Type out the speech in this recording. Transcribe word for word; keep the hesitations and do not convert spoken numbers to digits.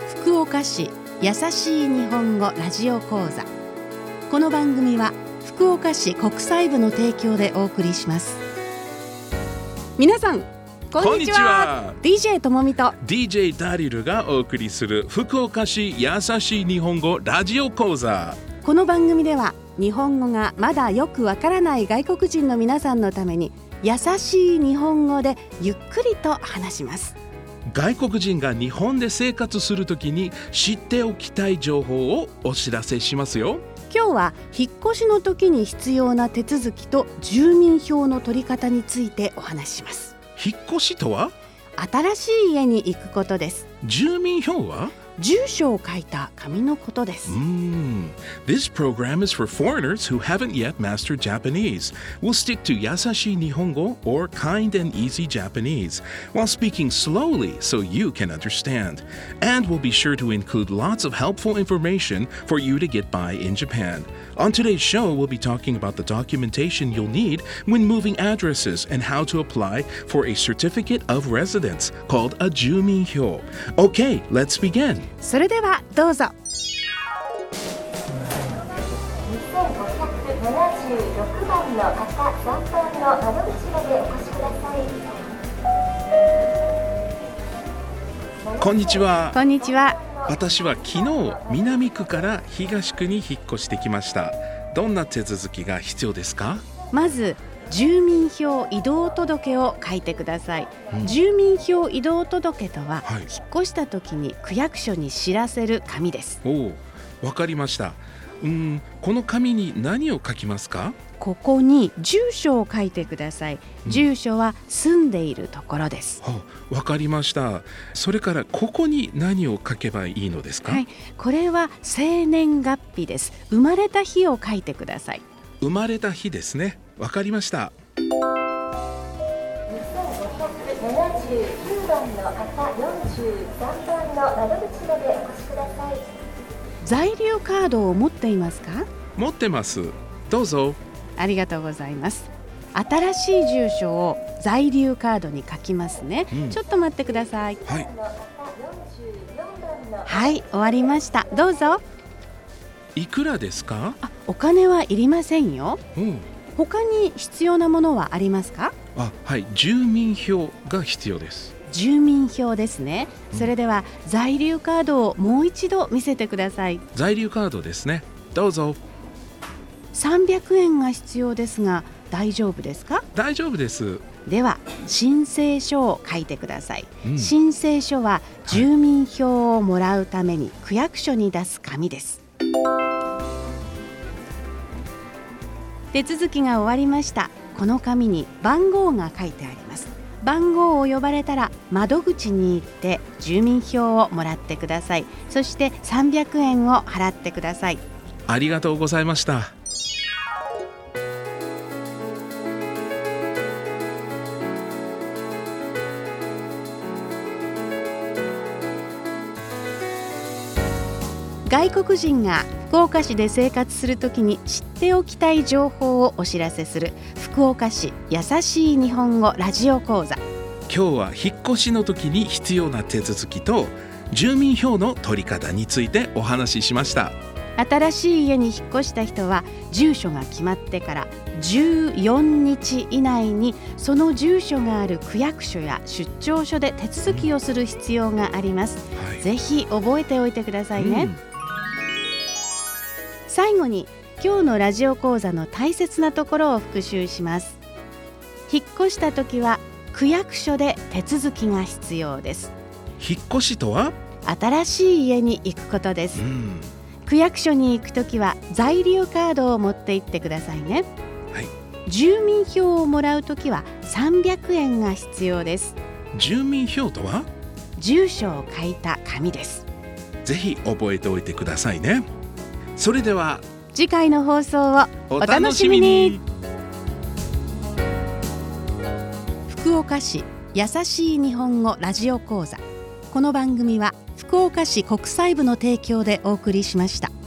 福岡市やさしい日本語ラジオ講座。この番組は福岡市国際部の提供でお送りします。皆さんこんにちは。 ディージェー ともみとディージェー ダリルがお送りする福岡市やさしい日本語ラジオ講座。 この番組では日本語がまだよくわからない外国人の皆さんのために優しい日本語でゆっくりと話します。 外国人が日本で生活するときに知っておきたい情報をお知らせしますよ。 今日は引っ越しの時に必要な手続きと住民票の取り方についてお話しします。 引っ越しとは新しい家に行くことです。 住民票は住所を書いた紙のことです。 Mm. This program is for foreigners who haven't yet mastered Japanese. We'll stick to Yasashi Nihongo or Kind and Easy Japanese while speaking slowly so you can understand. And we'll be sure to include lots of helpful information for you to get by in Japan. On today's show, we'll be talking about the documentation you'll need when moving addresses and how to apply for a certificate of residence called a Juminhyo. Okay, let's begin. それではどうぞ。 にせんごひゃくななじゅうろくばんの方、さんばんの窓口までお越しください。 こんにちは。 こんにちは。 私は昨日南区から東区に引っ越してきました。どんな手続きが必要ですか？ まず住民票移動届を書いてください、うん、住民票移動届とは、はい、引っ越した時に区役所に知らせる紙です。 おお、わかりました。うーん、この紙に何を書きますか？ ここに住所を書いてください、うん、住所は住んでいるところです。 わかりました。それからここに何を書けばいいのですか？ はい、これは生年月日です。生まれた日を書いてください。 生まれた日ですね。わかりました。 にせんごひゃくななじゅうきゅうばんの方、よんじゅうさんばんの窓口までお越しください。 在留カードを持っていますか？ 持ってます。どうぞ。 ありがとうございます。新しい住所を在留カードに書きますね、うん、ちょっと待ってください。 はい、 はい、終わりました。どうぞ。 いくらですか？ あ、お金はいりませんよ、 うん、 他に必要なものはありますか？ あ、はい、住民票が必要です。 住民票ですね、うん、それでは在留カードをもう一度見せてください。 在留カードですね。どうぞ。 さんびゃくえんが必要ですが大丈夫ですか？ 大丈夫です。 では申請書を書いてください、 うん、 申請書は住民票をもらうために区役所に出す紙です。手続きが終わりました。この紙に番号が書いてあります。番号を呼ばれたら窓口に行って住民票をもらってください。そしてさんびゃくえんを払ってください。 ありがとうございました。 外国人が福岡市で生活するときに知っておきたい情報をお知らせする福岡市やさしい日本語ラジオ講座。 今日は引っ越しの時に必要な手続きと住民票の取り方についてお話ししました。 新しい家に引っ越した人は住所が決まってからじゅうよっか以内にその住所がある区役所や出張所で手続きをする必要があります、はい、ぜひ覚えておいてくださいね、うん、最後に今日のラジオ講座の大切なところを復習します。引っ越した時は区役所で手続きが必要です。 引っ越しとは新しい家に行くことです、うん、区役所に行くときは在留カードを持って行ってくださいね、 はい、 住民票をもらうときはさんびゃくえんが必要です。 住民票とは住所を書いた紙です。 ぜひ覚えておいてくださいね。それでは次回の放送をお楽しみに。福岡市やさしい日本語ラジオ講座。この番組は福岡市国際部の提供でお送りしました。